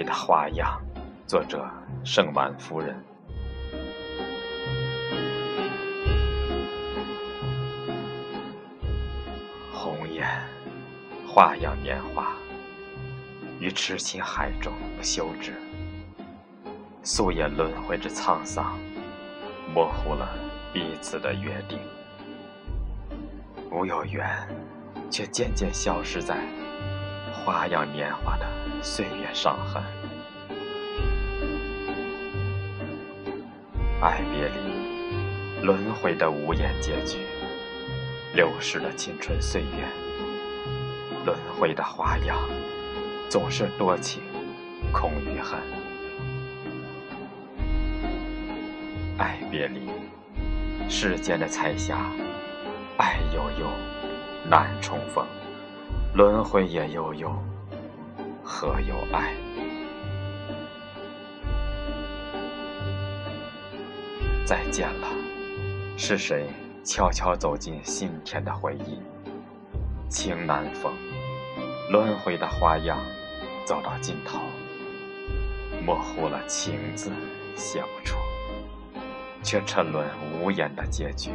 回的花样，作者盛满夫人。红颜花样年华，于痴情海中不休止，夙夜轮回之沧桑，模糊了彼此的约定。无有缘，却渐渐消失在花样年华的岁月伤痕。爱别离，轮回的无言结局，流逝的青春岁月，轮回的花样，总是多情空余恨。爱别离，世间的彩霞，爱悠悠，难重逢，轮回也悠悠，何有爱？再见了，是谁悄悄走进心田的回忆？情难逢，轮回的花样走到尽头，模糊了情字写不出，却沉沦无言的结局。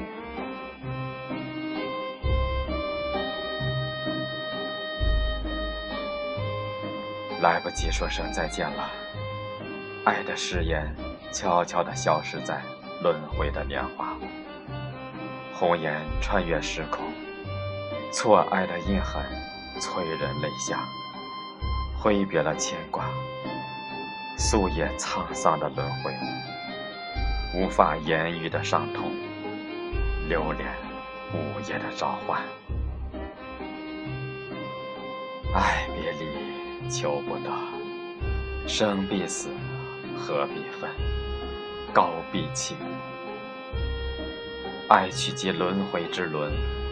来不及说声再见了，爱的誓言悄悄地消失在轮回的年华。红颜穿越时空，错爱的印痕催人泪下，挥别了牵挂，夙夜沧桑的轮回，无法言喻的伤痛，留恋午夜的召唤。爱别离求不得，生必死，合必分，高必弃。爱去即轮回之轮，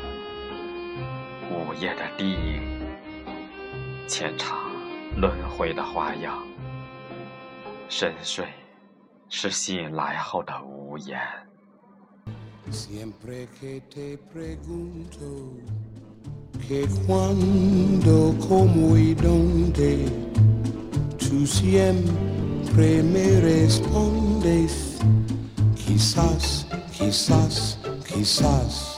午夜的低吟，浅尝轮回的花样。深睡是醒来后的无言。 Siempre que te pregunto que cuándo, cómo y dónde, tú siempre me respondes, quizás, quizás, quizás.